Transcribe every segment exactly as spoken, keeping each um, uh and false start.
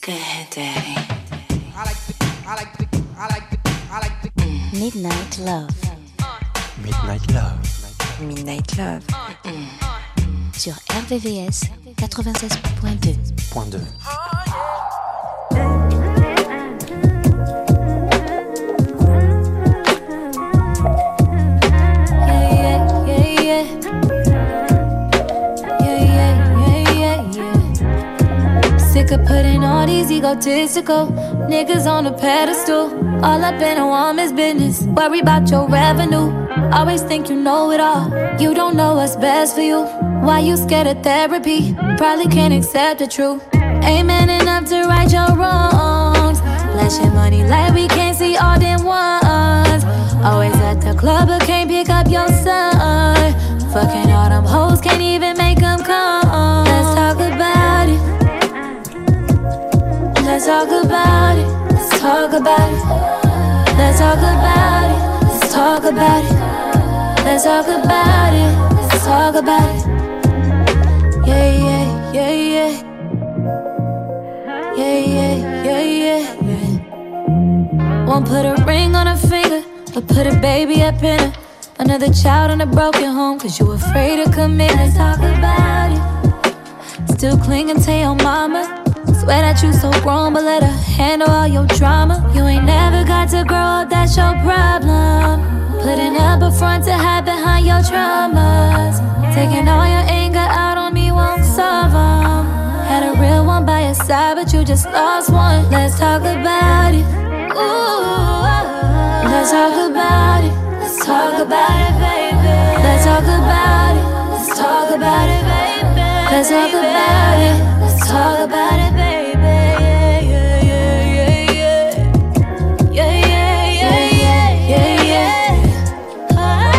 Go ahead, Daddy. I like the, I like the, I like the, I like the. Mm. Midnight Love. Midnight Love. Midnight Love. Mm. Sur R V V S quatre-vingt-seize point deux. Point deux. Sick of putting all these egotistical niggas on a pedestal. All up in a woman's business. Worry about your revenue. Always think you know it all. You don't know what's best for you. Why you scared of therapy? Probably can't accept the truth. Ain't man enough to right your wrongs. Flash your money like we can't see all them ones. Always at the club but can't pick up your son. Fucking all them hoes, can't even make them come. Let's talk about it. Let's talk about it. Let's talk about it. Let's talk about it. Let's talk about it. Let's talk about it. Let's talk about it. Yeah, yeah, yeah, yeah. Yeah, yeah, yeah, yeah, yeah. Won't put a ring on her finger, but put a baby up in her. Another child in a broken home, cause you afraid to commit. Let's talk about it. Still clinging to your mama. Swear that you so grown, but let her handle all your drama. You ain't never got to grow up, that's your problem. Putting up a front to hide behind your traumas. Taking all your anger out on me won't solve them. Had a real one by your side, but you just lost one. Let's talk about it. Ooh, let's talk about it. Let's talk about it, baby. Let's talk about it. Let's talk about it, baby. Let's talk about it. Let's talk about it, baby. Yeah, yeah, yeah, yeah, yeah, yeah, yeah, yeah, yeah, yeah, yeah.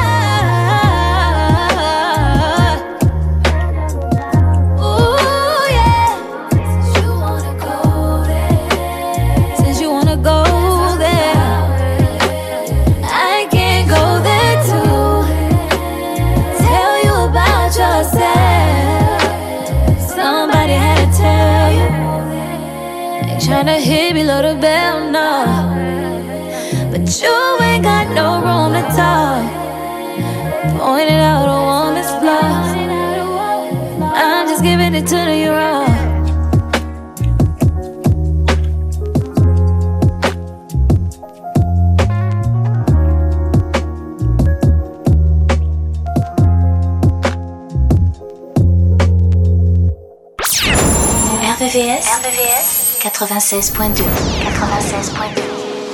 Ah, ooh, yeah. Since you wanna go there, since you wanna go there, I can't go there too. Tell you about yourself. Somebody had to tell you. Ain't tryna hit below the bell, no. But you ain't got no room to talk. Pointed out a woman's flaws. I'm just giving it to you raw. R V V S, R V V S quatre-vingt-seize point deux. quatre-vingt-seize point deux.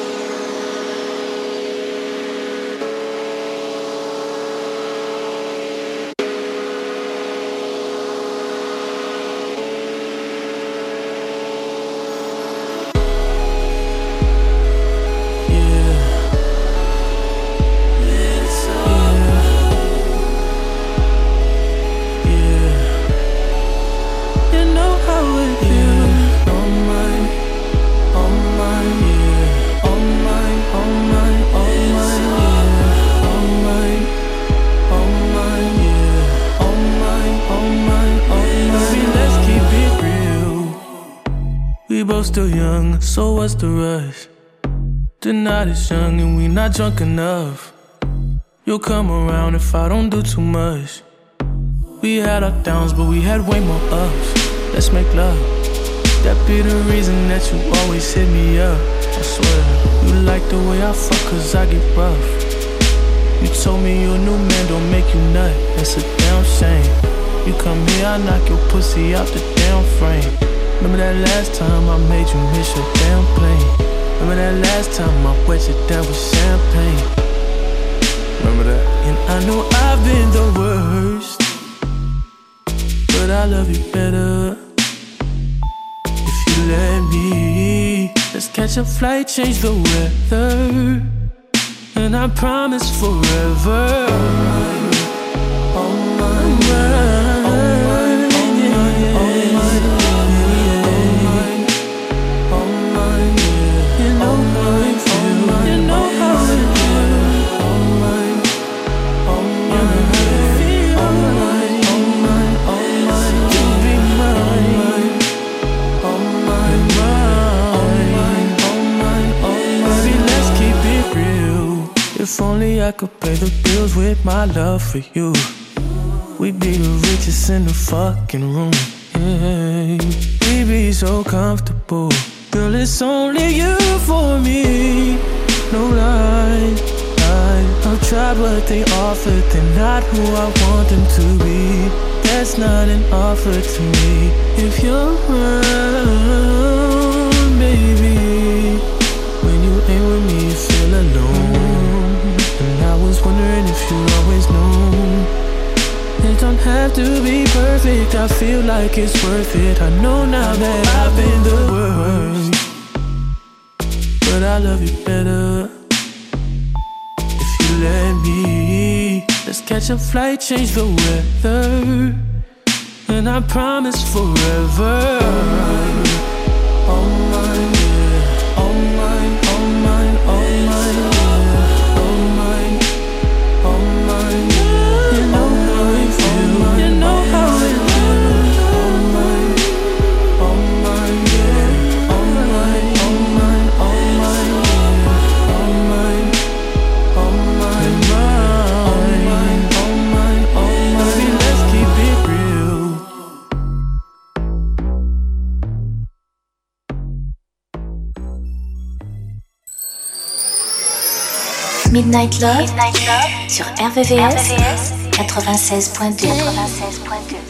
Still young, so what's the rush? The night is young and we not drunk enough. You'll come around if I don't do too much. We had our downs, but we had way more ups. Let's make love. That be the reason that you always hit me up. I swear, you like the way I fuck cause I get rough. You told me your new man don't make you nut. That's a damn shame. You come here, I knock your pussy out the damn frame. Remember that last time I made you miss your damn plane. Remember that last time I wet you down with champagne. Remember that? And I know I've been the worst, but I love you better if you let me. Let's catch a flight, change the weather, and I promise forever. Oh my, oh my. Mine. me, I could pay the bills with my love for you. We'd be the richest in the fucking room. Yeah. We'd be so comfortable. Girl, it's only you for me. No lie, lie. I've tried what they offered. They're not who I want them to be. That's not an offer to me. If you're around, baby, when you ain't with me, you feel alone. And I was wondering if you always know. It don't have to be perfect, I feel like it's worth it. I know now that I've been the worst, but I love you better if you let me. Let's catch a flight, change the weather, and I promise forever. All mine, yeah. All mine, all mine, all mine, yeah. All mine, all mine, yeah. You know how it feels, you know how it feels. All mine, all mine, yeah. All mine, all mine, all mine, yeah. All mine, all mine, all mine, all mine, all mine. Baby, let's keep it real. Midnight Love, Midnight Love sur R V V S quatre-vingt-seize point deux. quatre-vingt-seize point deux.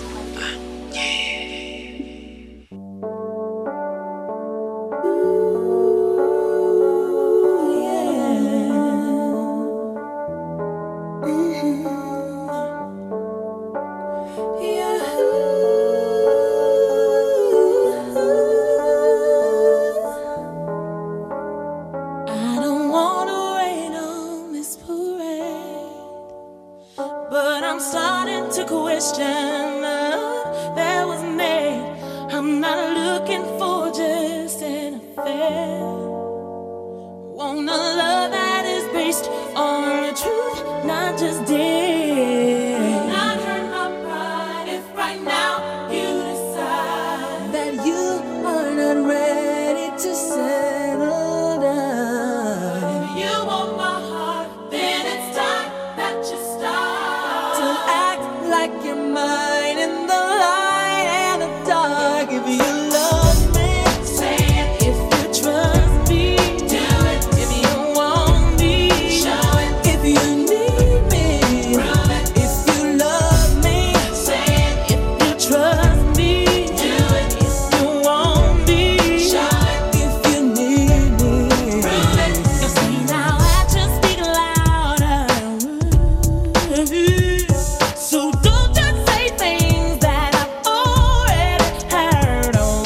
So don't just say things that I've already heard on.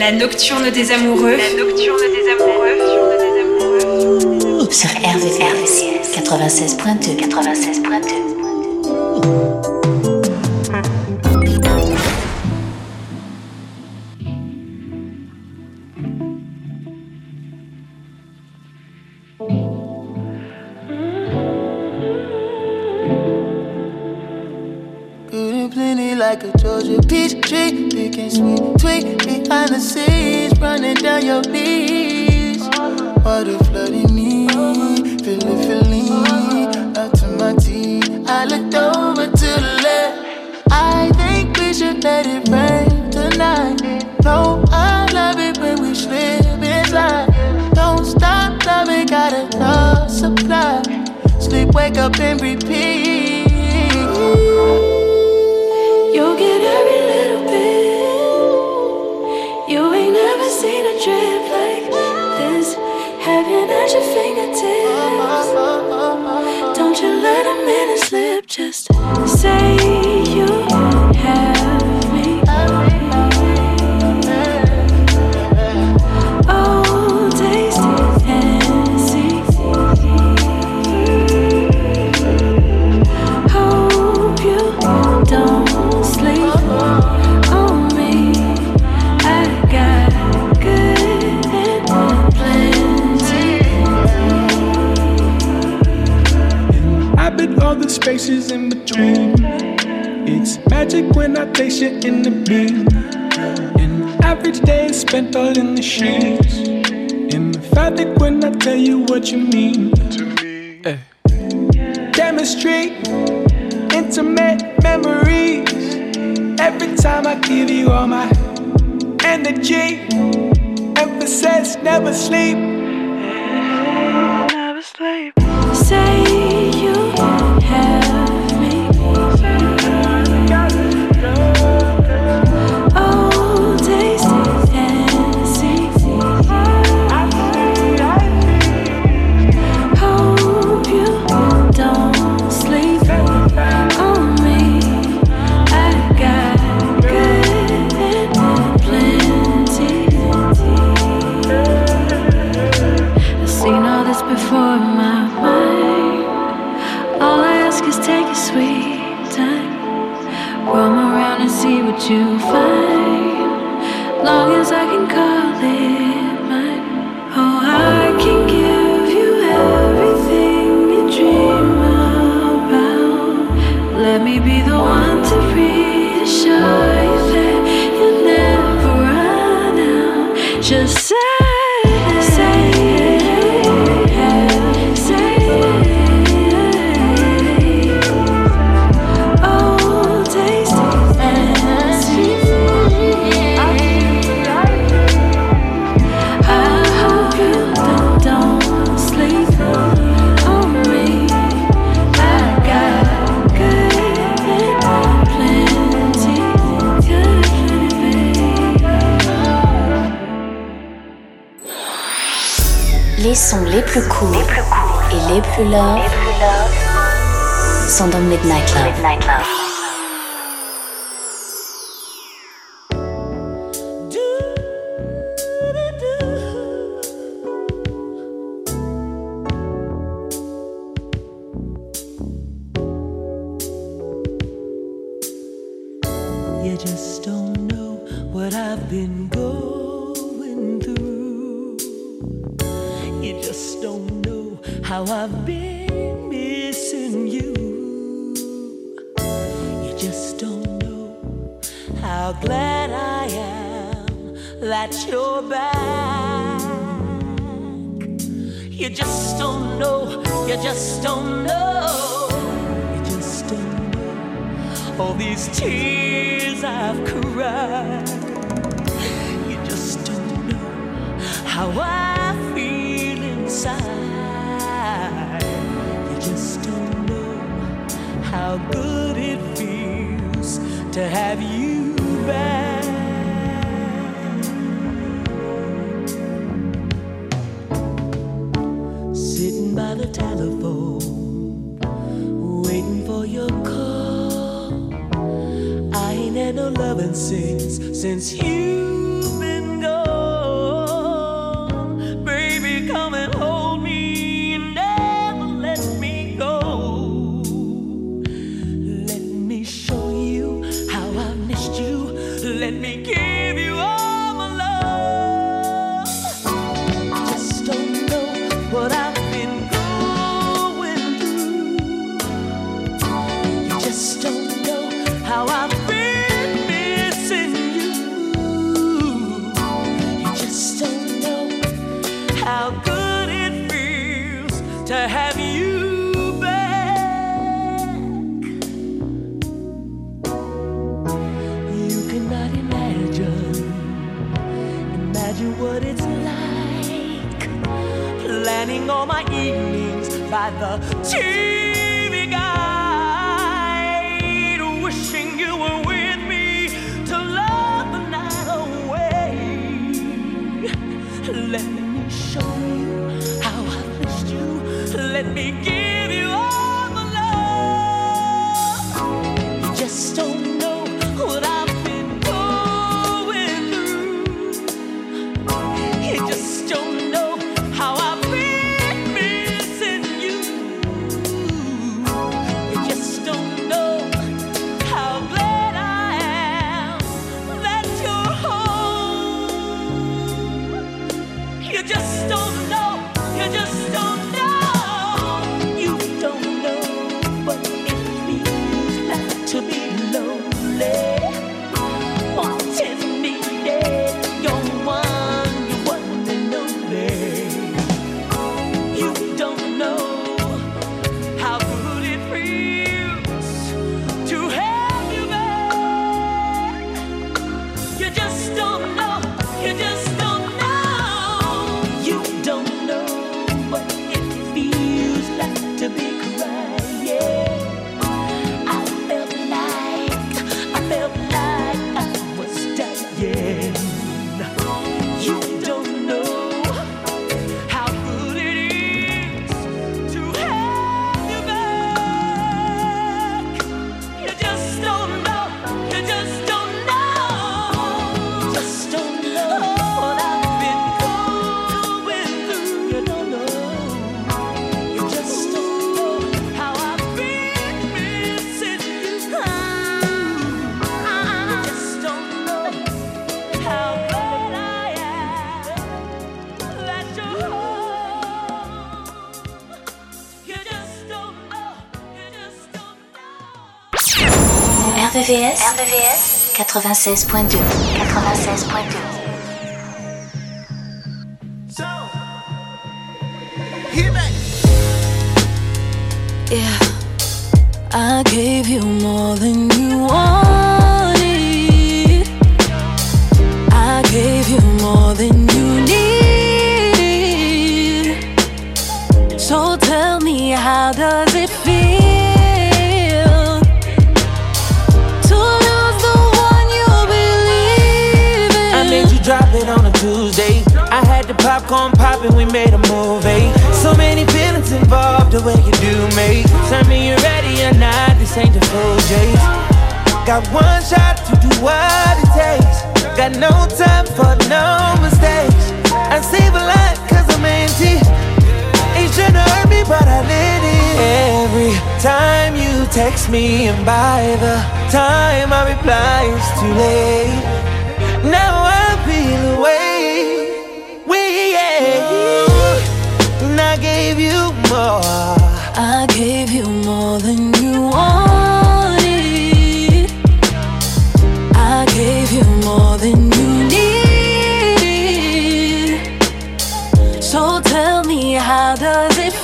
La nocturne des amoureux. La nocturne des amoureux. Sur R V V S quatre-vingt-seize point deux. quatre-vingt-seize point deux. Like a Georgia peach tree, picking sweet tweet behind the scenes, running down your knees. Water flooding me, feel it, feeling up to my teeth. I looked over to the left. I think we should let it rain tonight. No, I love it when we slip inside. Don't stop loving, got enough supply. Sleep, wake up and repeat. You'll get every little bit. You ain't never seen a drip like this. Heaven at your fingertips. Don't you let a minute slip. Just say you have me. Oh, taste and see. Hope you don't sleep on me. I got good and plenty. I've been all the spaces in between. It's magic when I taste you in the beam. An average day is spent all in the sheets. Emphatic when I tell you what you mean to me. Hey. Chemistry, intimate memories. Every time I give you all my energy. Emphasis, never sleep. Never sleep. Say you have me. Oh, taste and see. Hope you don't sleep on me. I got good and plenty. I've seen all this before in my mind. All I ask is take your sweet time. Roam around and see what you find. Long as I can call it mine. Oh, I can give you everything you dream about. Let me be the one to reassure you that you'll never run out. Just say, say it, say it. Oh, taste and see. I hope you don't, don't sleep on me. I got good and plenty, good and plenty. Les sons les plus courts, les plus courts et les plus love, les plus love sont dans Midnight Love. Midnight Love. You just don't know what I've been going through. You just don't know how I've been missing you. You just don't know how glad I am that you're back. You just don't know, you just don't know, you just don't know all these tears I've cried. You just don't know how I feel inside. You just don't know how good it feels to have you back. Sitting by the telephone, waiting for your call. I ain't had no loving since, since you've been gone. to have you back. You cannot imagine, imagine what it's like, planning all my evenings by the T V guide, wishing you were with me to love the night away. Let me show you how I missed you. Let me give you all the love. You just don't know what I've been going through. You just don't know how I've been missing you. You just don't know how glad I am that you're home. You just don't know. You just don't know. You don't know what it feels like to be lonely. Wanting, needing, you're one, you're one and only. You don't know how good it feels to have you back. You just don't know. You just don't know. You don't know what it feels like to be crying. I felt like, I felt like I was dying. You don't know how good it is to have you back. You just don't know. You just don't know. You just don't know what I've been going through. You don't know. You just don't know how I've been missing you. You just don't know how glad I am that you're home. You just don't know. You just don't know. R V V S, R V V S quatre-vingt-seize point deux. quatre-vingt-seize point deux. So, hit back. Yeah, I gave you more than you wanted. I gave you more than you need. So tell me, how does it feel to lose the one you believe in? I made you drop it on a Tuesday. I had the popcorn poppin', we made a movie. So many feelings involved, the way you do me. Tell me you're ready or not, this ain't the full J's. Got one shot to do what it takes. Got no time for no mistakes. I save a lot cause I'm empty. Ain't tryna hurt me but I let it. Every time you text me and by the time I reply it's too late. Now I feel away. We yeah. And I gave you more. I gave you more than you wanted. I gave you more than you need. So tell me, how does it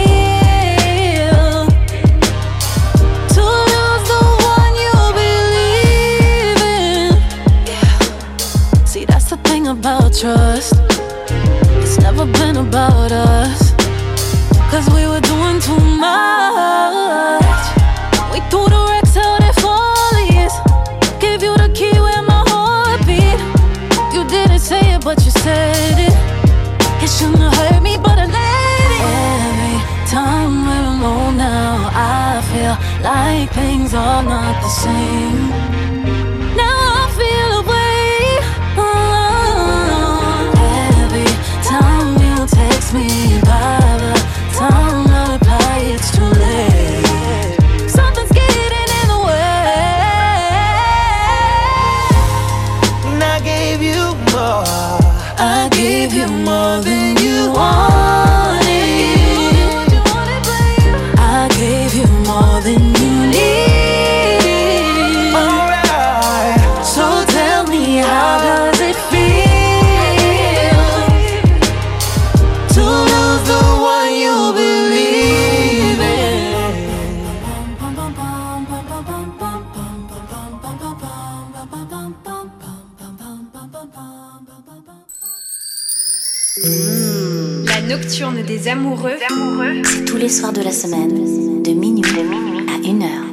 feel to lose the one you believe in? Yeah. See, that's the thing about trust. It's never been about us. Cause we were doing too much. We threw the wrecks out at Follies. Gave you the key where my heart beat. You didn't say it but you said it. It shouldn't have hurt me but I let it. Every time we're alone now I feel like things are not the same. Now I feel away. Oh, every time you text me by the time I reply, it's too late. Something's getting in the way. And I gave you more. I gave you more than you wanted. I gave you more than you need. Alright. nocturne des amoureux. amoureux. C'est tous les soirs de la semaine, de minuit, de minuit à une heure.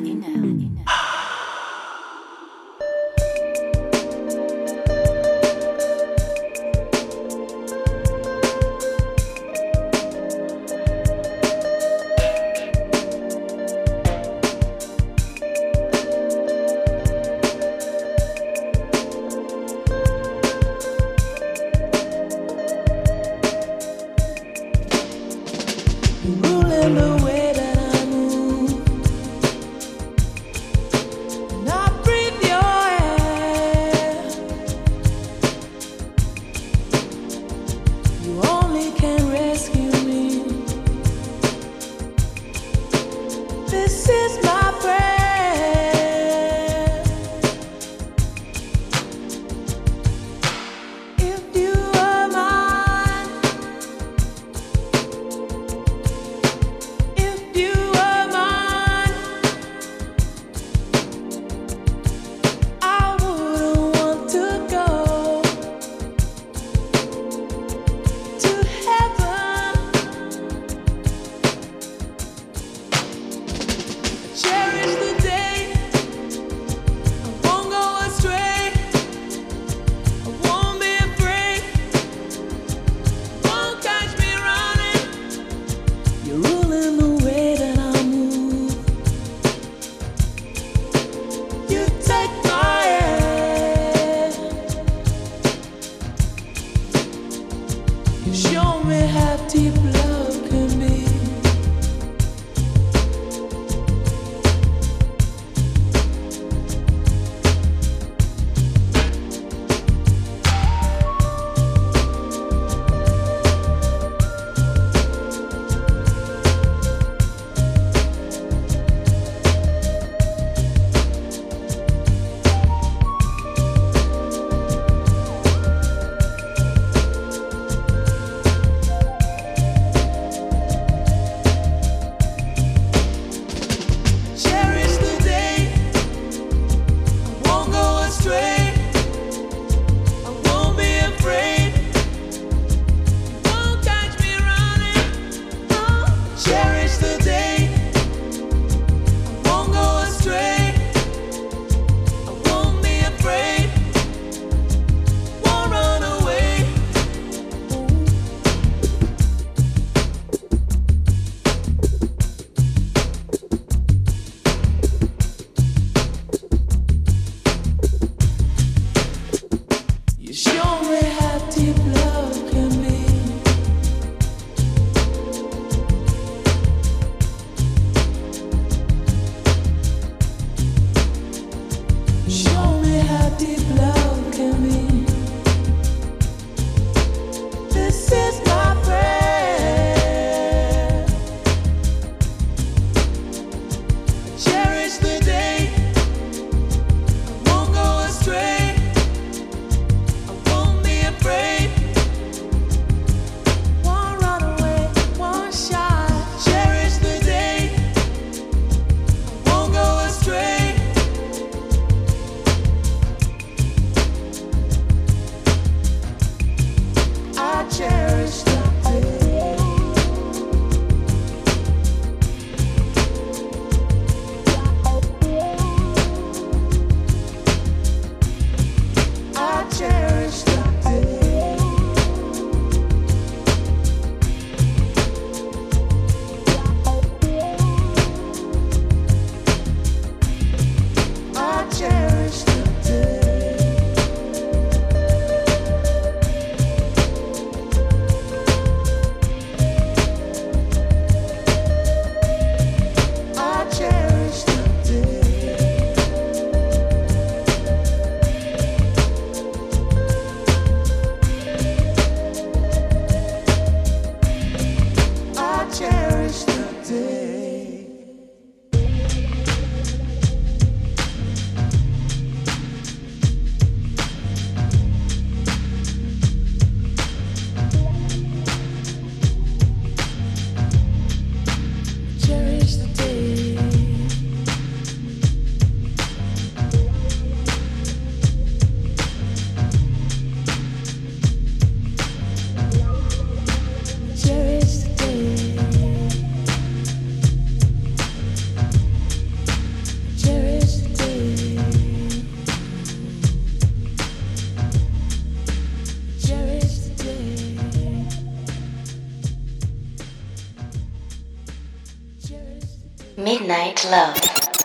Midnight Love.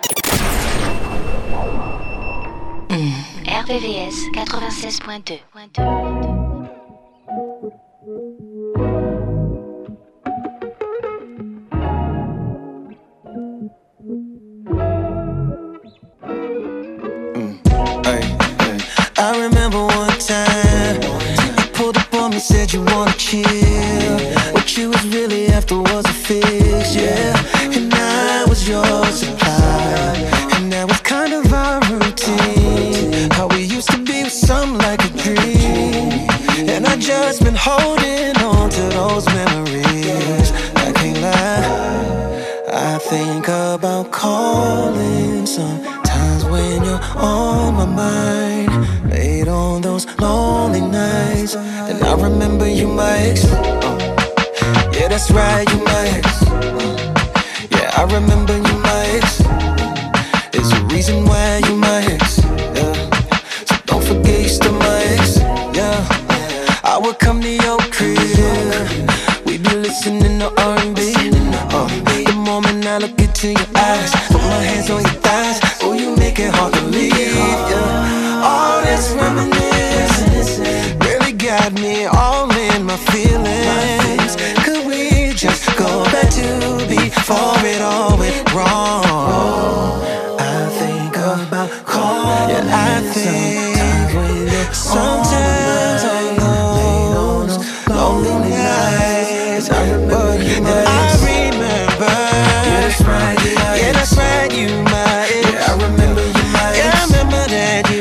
Mm. R V V S quatre-vingt-seize point deux. I remember one time you pulled up on me, said you wanna chill. What you was really after was a fix, yeah. And I was your supply, and that was kind of our routine. How we used to be was something like a dream. And I just been holding on to those memories. I can't lie, I think about calling sometimes when you're on my mind. Late on those lonely nights, and I remember you, my ex. uh, Yeah, that's right, you my ex. uh, Yeah, I remember you, my ex. There's a reason why you my ex, yeah. So don't forget you still my ex, yeah. I would come to your crib, we'd be listening to R and B. uh, The moment I look into your eyes, put my hands on your thighs, oh, you make it hard to leave, yeah. All this reminiscing really got me all in my feelings. Could we just go back to before it all went wrong? I think about calling. Yeah, I think sometimes on those lonely nights, but I remember. Yeah, that's right. Yeah, that's right. You my ex. Yeah, I remember you my ex. Yeah, I remember that you.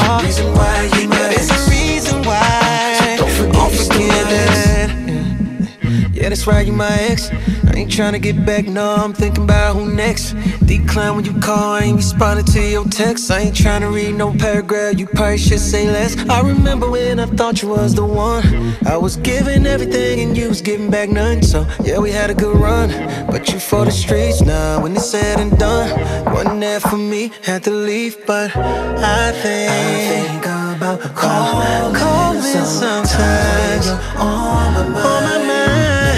Yeah, that's right, you my ex. I ain't tryna get back, no, I'm thinking about who next. Decline when you call, I ain't responding to your text. I ain't tryna read no paragraph, you probably should say less. I remember when I thought you was the one. I was giving everything and you was giving back none. So, yeah, we had a good run, but you for the streets now. When it's said and done, wasn't there for me, had to leave. But I think, I think about calling, calling sometimes, sometimes on my mind. On my mind.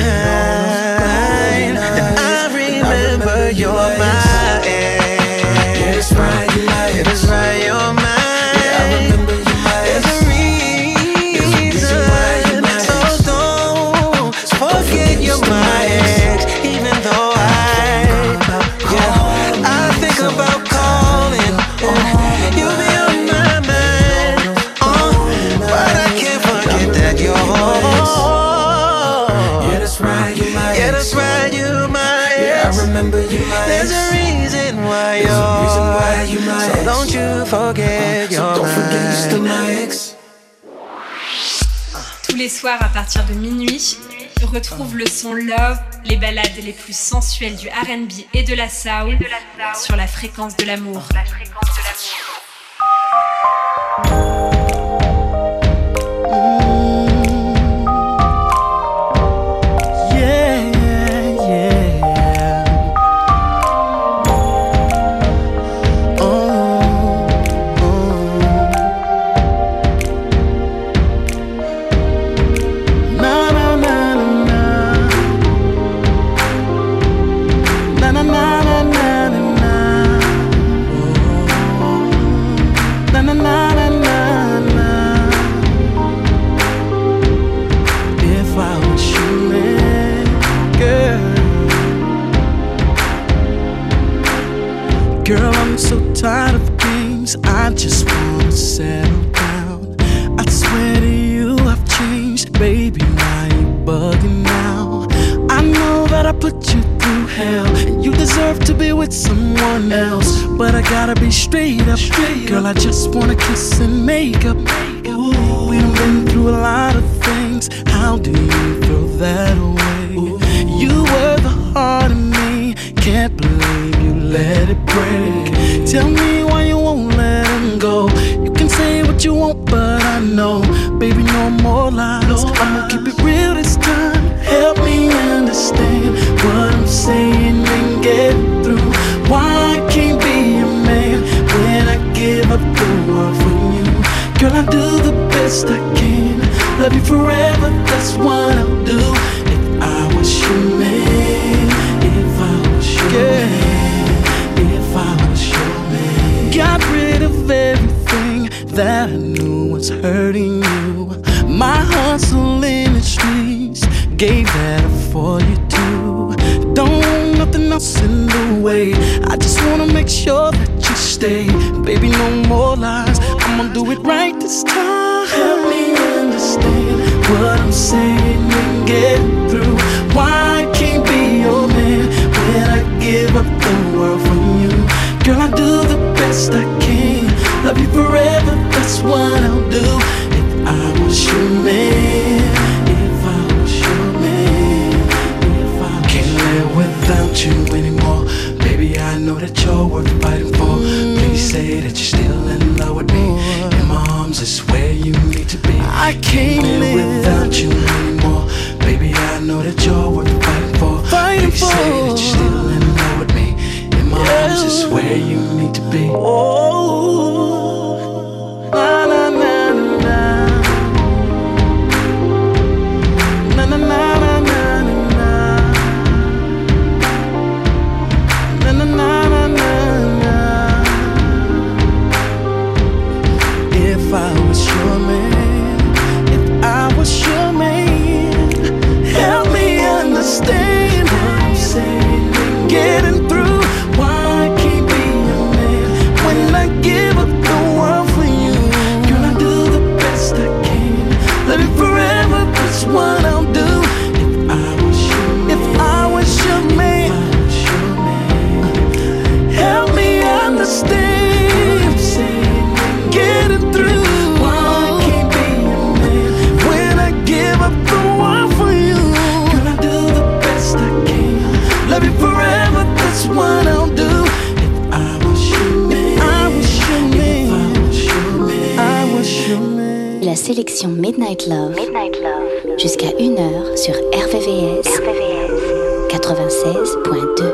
You're my ex. Yeah, that's right, you're my ex. Yeah, that's right, you're my ex. Yeah, I remember you my ex. There's a reason why you're my ex. So don't forget you're my ex. Even though I, yeah, I think about calling. You be on my mind, uh, but I can't forget that you're ex. Yeah, that's right, you're my ex. Yeah, that's right, you're my ex. Yeah, I remember you. There's a reason why you're, a reason why you my so ex. Don't you forget uh, so don't forget you're still my ex. Tous les soirs à partir de minuit, retrouve le son Love, les ballades les plus sensuelles du R and B et de la soul, et de la soul sur la fréquence de l'amour. La fréquence de l'amour. Girl, I'm so tired of games, I just wanna settle down. I swear to you I've changed, baby, why you bugging now? I know that I put you through hell, and you deserve to be with someone else. But I gotta be straight up, girl, I just wanna kiss and make up. Ooh, we done been through a lot of things, how do you throw that away? Ooh, you were the heart in me, can't believe you let it break. Tell me why you won't let him go. You can say what you want, but I know, baby, no more lies. I'ma keep it real this time. Help me understand what I'm saying and get through. Why I can't be a man when I give up the world for you? Girl, I do the best I can. Love you forever, that's what I'll do. If I was your man, if I was your man. else in the way. I just wanna make sure that you stay. Baby, no more lies, I'ma do it right this time. Help me understand what I'm saying and get through. Why I can't be your man when I give up the world for you? Girl, I do the best I can. Love you forever, that's what I'll do. If I was your man, if I was your man, if I can't live without you anymore. Baby, I know that you're worth fighting for. Please say that you're still in love with me. In my arms is where you need to be. I can't live without you anymore. Baby, I know that you're worth fighting for. Fighting Please for. Say that you're still in love with me. In my yeah. arms is where you need to be. Oh, na na na na, na na na na na na, na na na na na. If I was your man, if I was your man, help me understand what I'm saying, getting through. Why I can't be your man when I give up the world for you? Girl, I do the best I can. Love you forever, that's what I'll do. If I was your man, if I was your man, help me understand, getting through. Why I can't be your man when I give up the world for you? Girl, I do the best I can. Love you forever, that's what I'll do. If I was your man, I was your man, I was your man, I was your man. La sélection Midnight Love, Midnight Love. Jusqu'à une heure sur R V V S, R V V S quatre-vingt-seize point deux.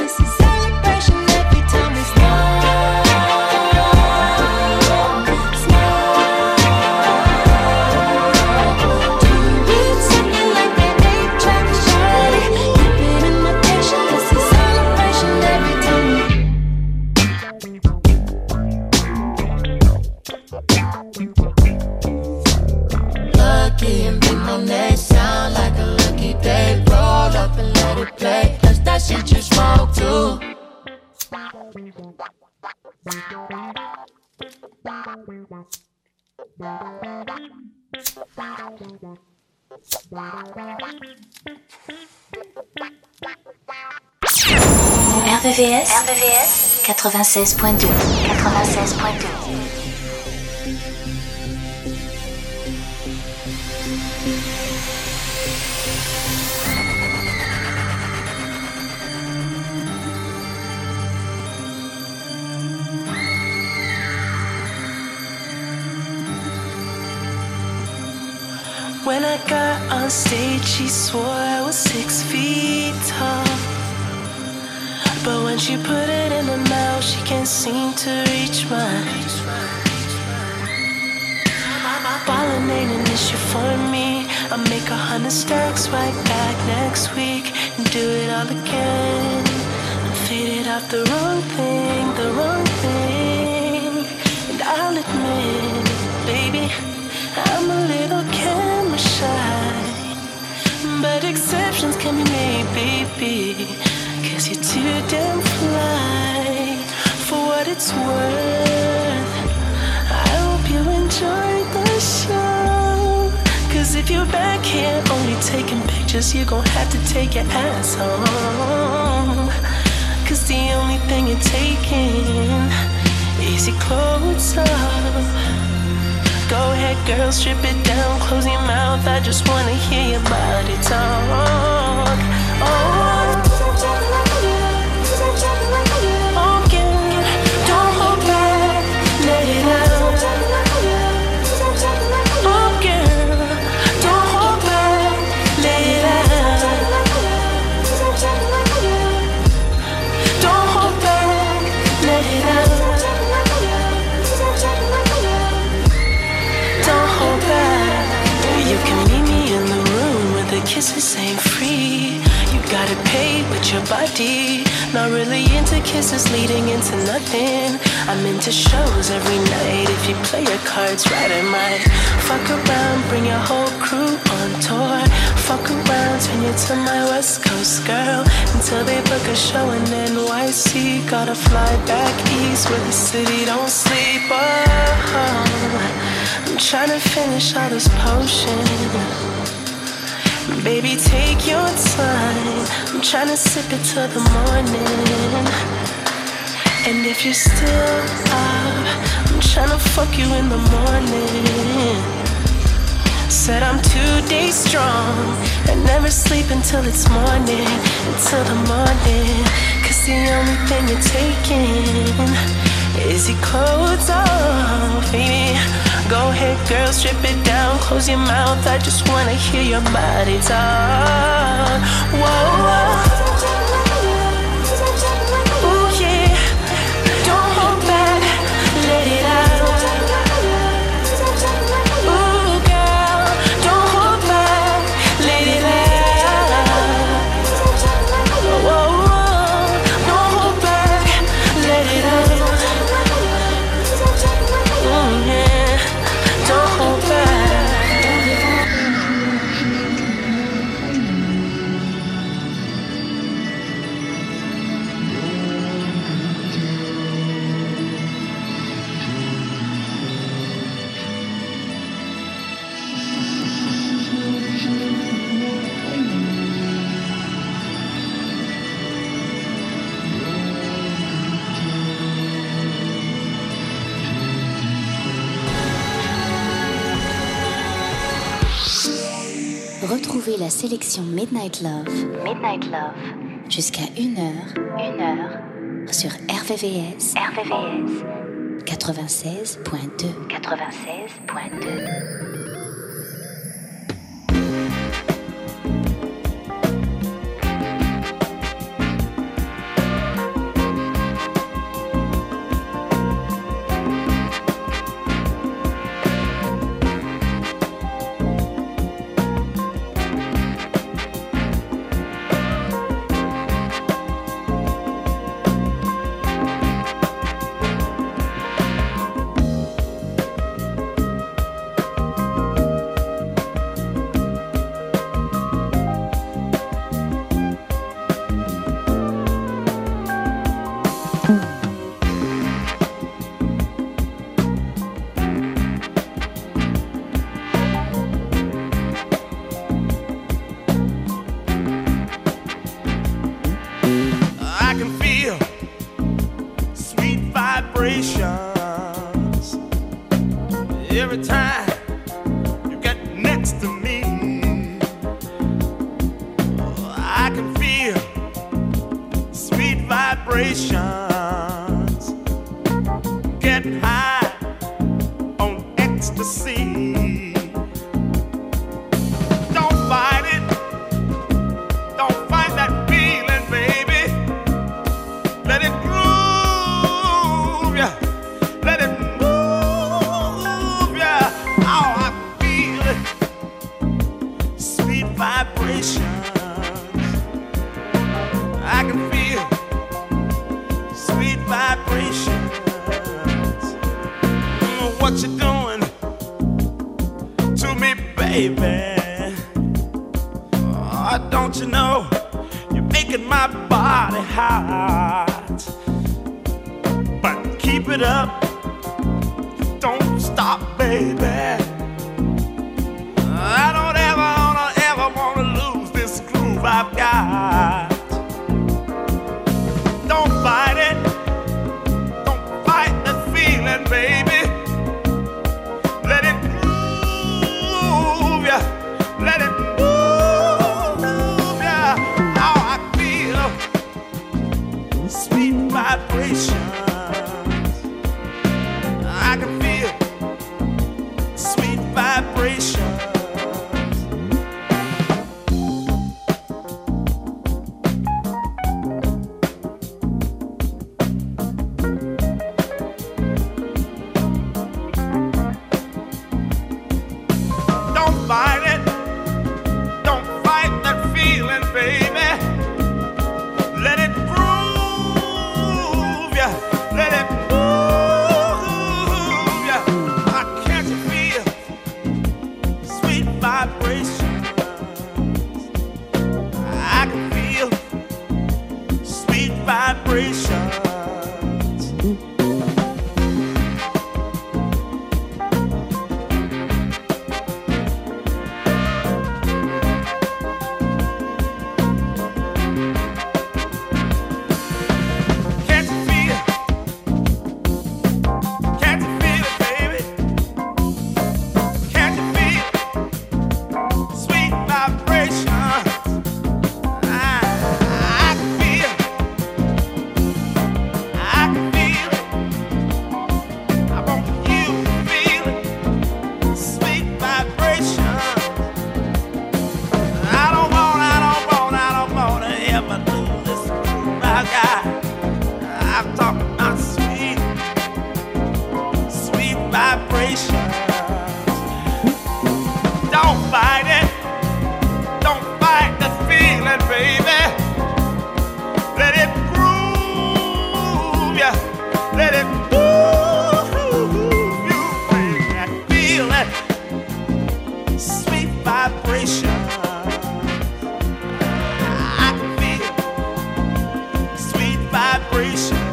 Smile. R V V S, R V V S quatre-vingt-seize point deux, quatre-vingt-seize point deux. When I got on stage, she swore I was six feet tall. But when she put it in her mouth, she can't seem to reach mine. Ballin' ain't an issue for me. I'll make a hundred stacks right back next week and do it all again. I'm faded off the wrong thing, the wrong thing. And I'll admit, baby, I'm a little camera shy, but exceptions can be made, baby, cause you're too damn fly. For what it's worth, I hope you enjoyed the show. Cause if you're back here only taking pictures, you're gon' have to take your ass home. Cause the only thing you're taking is your clothes off. Go ahead, girl, strip it down, close your mouth. I just wanna hear your body talk. Oh, oh yeah, don't hold back, let it out. Oh girl, don't hold back, let it out. Don't hold back, let it out. You can meet me in the room where the kisses ain't free. You gotta pay with your body. Not really into kisses leading into nothing. I'm into shows every night. If you play your cards right, I might fuck around, bring your whole crew on tour. Fuck around, turn you to my West Coast girl until they book a show in N Y C. Gotta fly back east where the city don't sleep. Oh, I'm tryna finish all this potion. Baby, take your time. I'm tryna sip it till the morning. And if you're still up, I'm tryna fuck you in the morning. Said I'm two days strong and never sleep until it's morning, until the morning. Cause the only thing you're taking is your clothes off, baby. Go ahead, girl, strip it down, close your mouth. I just wanna hear your body talk. Whoa, whoa. Ooh, yeah. Don't hold back, let it out. Ooh, girl, don't hold back, let it out. Whoa, whoa. Don't hold back, let it out. Mm, yeah. Don't hold back. Retrouvez la sélection Midnight Love, Midnight Love, jusqu'à une heure, une heure, sur R V V S, R V V S, quatre-vingt-seize point deux, quatre-vingt-seize point deux. every time you get next to me, oh, I can feel sweet vibrations, getting high on ecstasy. Don't fight it, don't fight that feeling, baby. Let it groove ya, let it move ya. Oh, I feel it, sweet vibrations. I can feel sweet vibrations. Mm, what you doing to me, baby? Oh, don't you know you're making my body hot? But keep it up, don't stop, baby. I don't ever, wanna, ever wanna lose this groove I've got. Don't fight it, don't fight that feeling, baby. Let it move ya, let it move ya. Oh, I feel sweet vibrations. I can feel sweet vibrations. Don't fight it, don't fight that feeling, baby. Let it groove ya, let it move ya. I can't you feel sweet vibrations? I can feel sweet vibrations. Can't you feel? Can't you feel it, baby? Can't you feel sweet vibrations? I, I can feel, I can feel it. I want you to feel it, sweet vibrations. I don't want, I don't want, I don't want to ever lose this groove I got. I'm talking about sweet, sweet vibrations. Don't fight it, don't fight the feeling, baby. Let it groove ya, let it move you, baby. Feel it, sweet vibrations. I can feel sweet vibrations.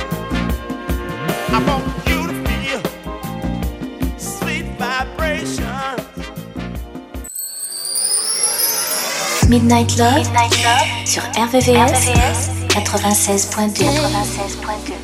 I want you to feel sweet vibrations. Midnight Love, Midnight Love sur R V V S quatre-vingt-seize point deux. quatre-vingt-seize point deux.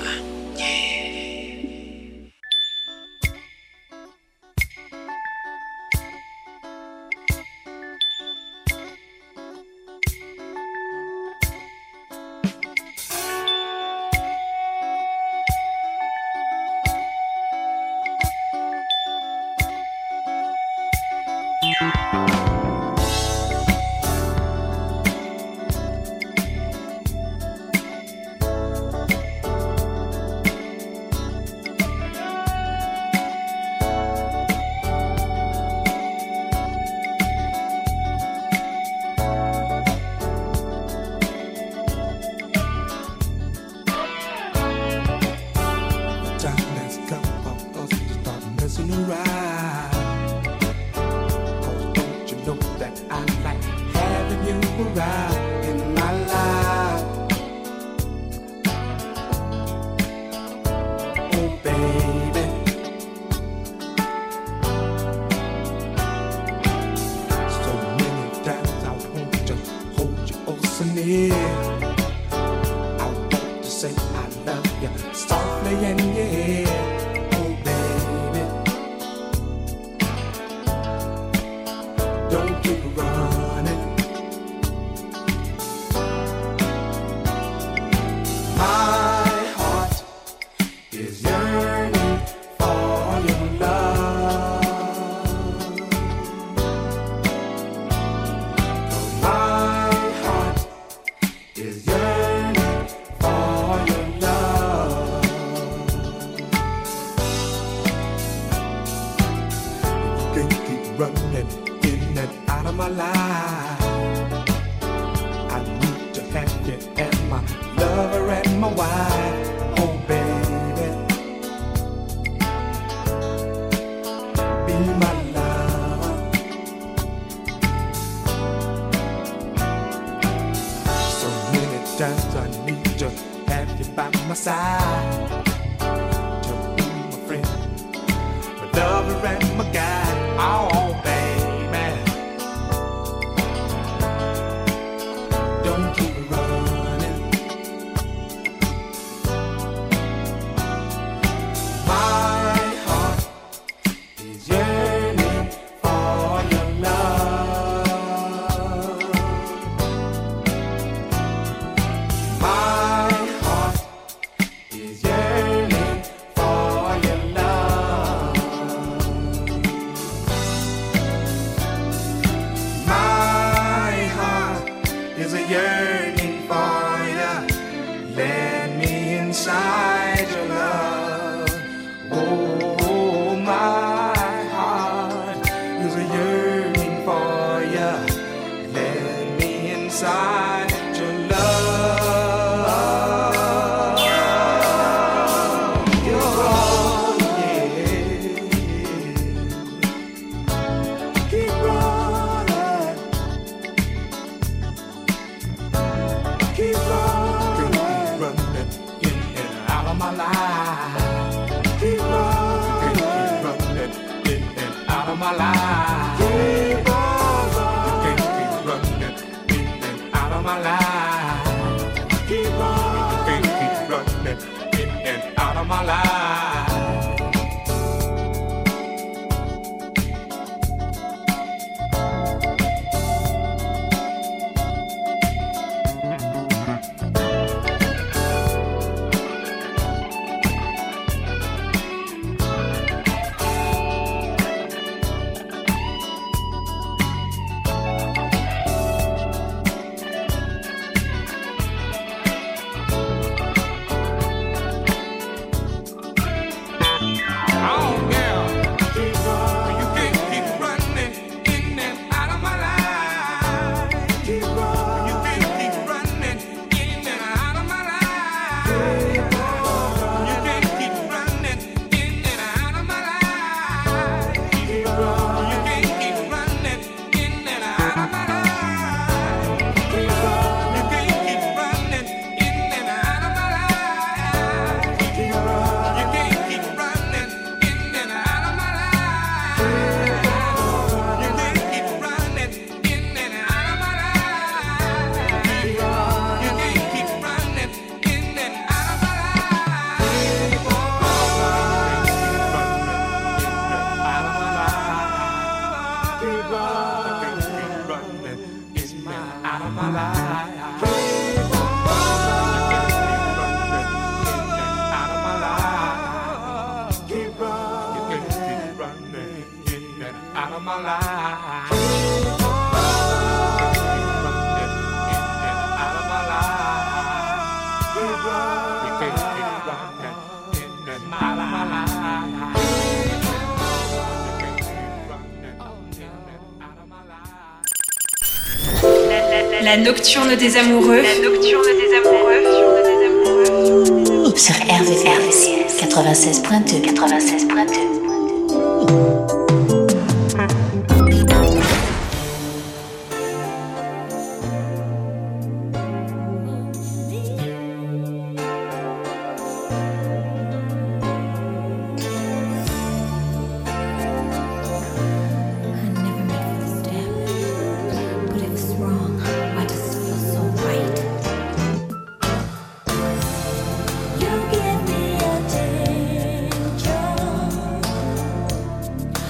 Time has come for us to start messing around. 'Cause don't you know that I like having you around in my life? Oh baby, so many times I want to hold you oh so near. I want to say I love you softly and yeah. Oh baby, is yearning for your love. My heart is yearning for your love. You can't keep running in and out of my life. I need to have you as my lover and my wife. Oh baby, be my lover. So many times I need to have you by my side, to be my friend, my lover and my guide. Oh baby, don't keep running. My heart is yearning for your love. My heart is yearning for your love. My heart is a yearning for you. Let me inside your love. Oh, my heart is a yearning for you. Let me inside your love. You're all, yeah. Keep running. Keep running. Keep running in and out of my life. Keep running. Keep running in and out of my life. Keep running. You can't keep running in and out of my life. Keep running. You can't keep running in and out of my life. Oh yeah, keep running. You can't keep running in and out of my life. Keep running. You can't keep running in and out of my life. You can't keep running in and out of my life. Keep running. You can't keep running in and out of my life. Keep running. You can't keep running in and out of my life. Keep running. You can't keep running in and out of my life. You can't keep running in and out of my life. You can't keep running in and out of my life. Keep running in and out of my life. Keep running. You can't keep running in and out of my life. Keep running. You can't keep running in and out of my life. La nocturne des amoureux. La nocturne des amoureux. Sur R V V S quatre-vingt-seize point deux. quatre-vingt-seize point deux. You give me attention.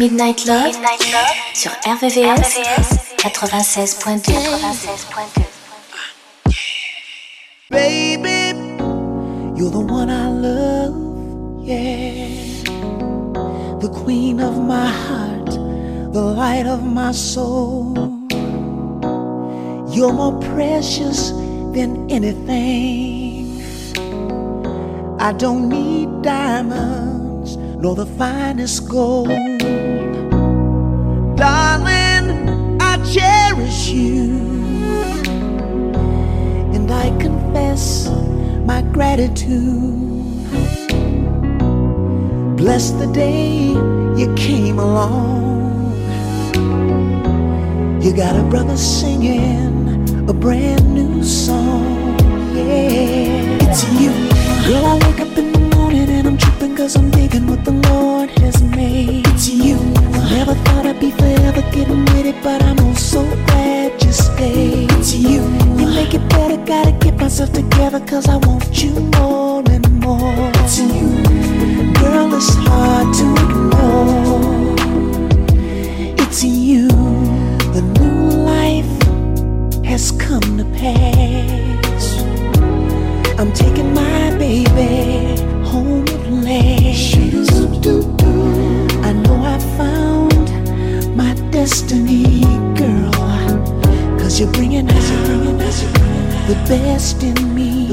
Midnight Love, Midnight Love sur R V V S quatre-vingt-seize point deux. Baby, you're the one I love, yeah. The queen of my heart, the light of my soul. You're more precious than anything. I don't need diamonds, nor the finest gold. Darling, I cherish you, and I confess my gratitude. Bless the day you came along. You got a brother singing a brand new song, yeah. It's you. Girl, I wake up in the morning and I'm tripping cause I'm digging what the Lord has made. It's you. Never thought I'd be forever getting with it, but I'm oh so glad you stayed. It's you. You make it better, gotta get myself together cause I want you more and more. It's you. Girl, it's hard to ignore. It's you. The new life has come to pass. I'm taking my baby home at last. I know I found my destiny, girl, cause you're bringing out the best in me.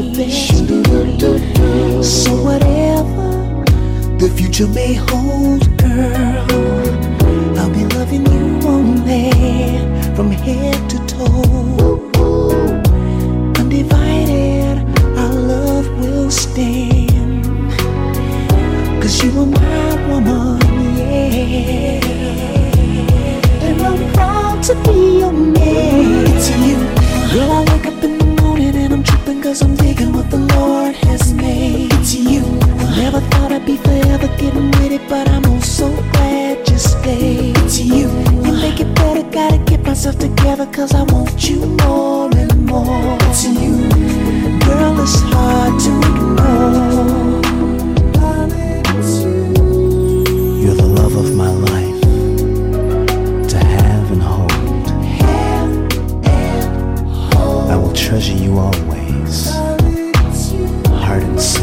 So whatever the future may hold, girl, I'll be loving you only from head to toe. Undivided, our love will stand, cause you are my woman, yeah. And I'm proud to be your man. It's you. Girl, I wake up in the morning and I'm tripping cause I'm digging what the Lord has made. It's you. Never thought I'd be forever getting with it, but I'm oh so glad you stayed. It's you. You make it better, gotta get myself together cause I want you more and more. It's you. Girl, it's hard to ignore. Darling, it's you. You're the love of my life, to have and hold. Have and hold. I will treasure you always, darling, it's you. Heart and soul.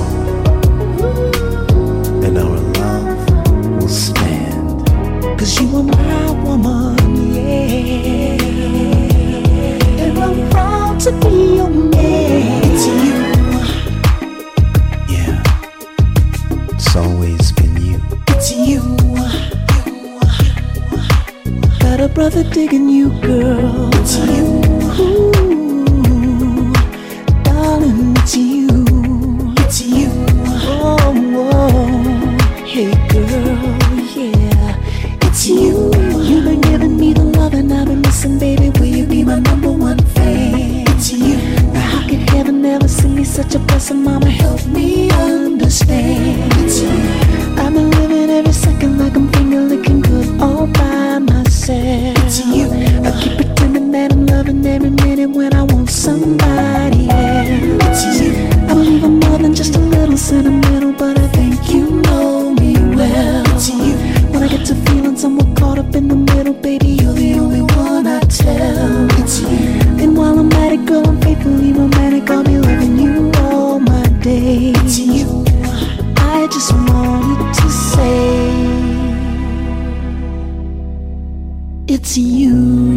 And our love will stand, cause you are my woman, yeah. And I'm proud to be your man. It's you. Yeah, it's always been you. It's you. Got a brother digging you, girl. It's you. Ooh, darling, it's you. It's you. Oh, whoa. Hey girl, yeah. It's you. You've been giving me the love and I've been missing, baby. Will you be my number one fan? It's you. Now how could heaven never send me such a blessing? Mama, help me understand. It's you. I've been living every second like I'm finger licking good all by myself. It's you. I keep pretending that I'm loving every minute when I want somebody else. It's you. I believe I'm more than just a little sentimental, but I think you know me well. It's you. When I get to feeling somewhat caught up in the middle, baby, you're the only one I tell. It's you. And while I'm at it, girl, I'm faithfully romantic. I'll be loving you all my days. It's you. I just wanted to say, it's you.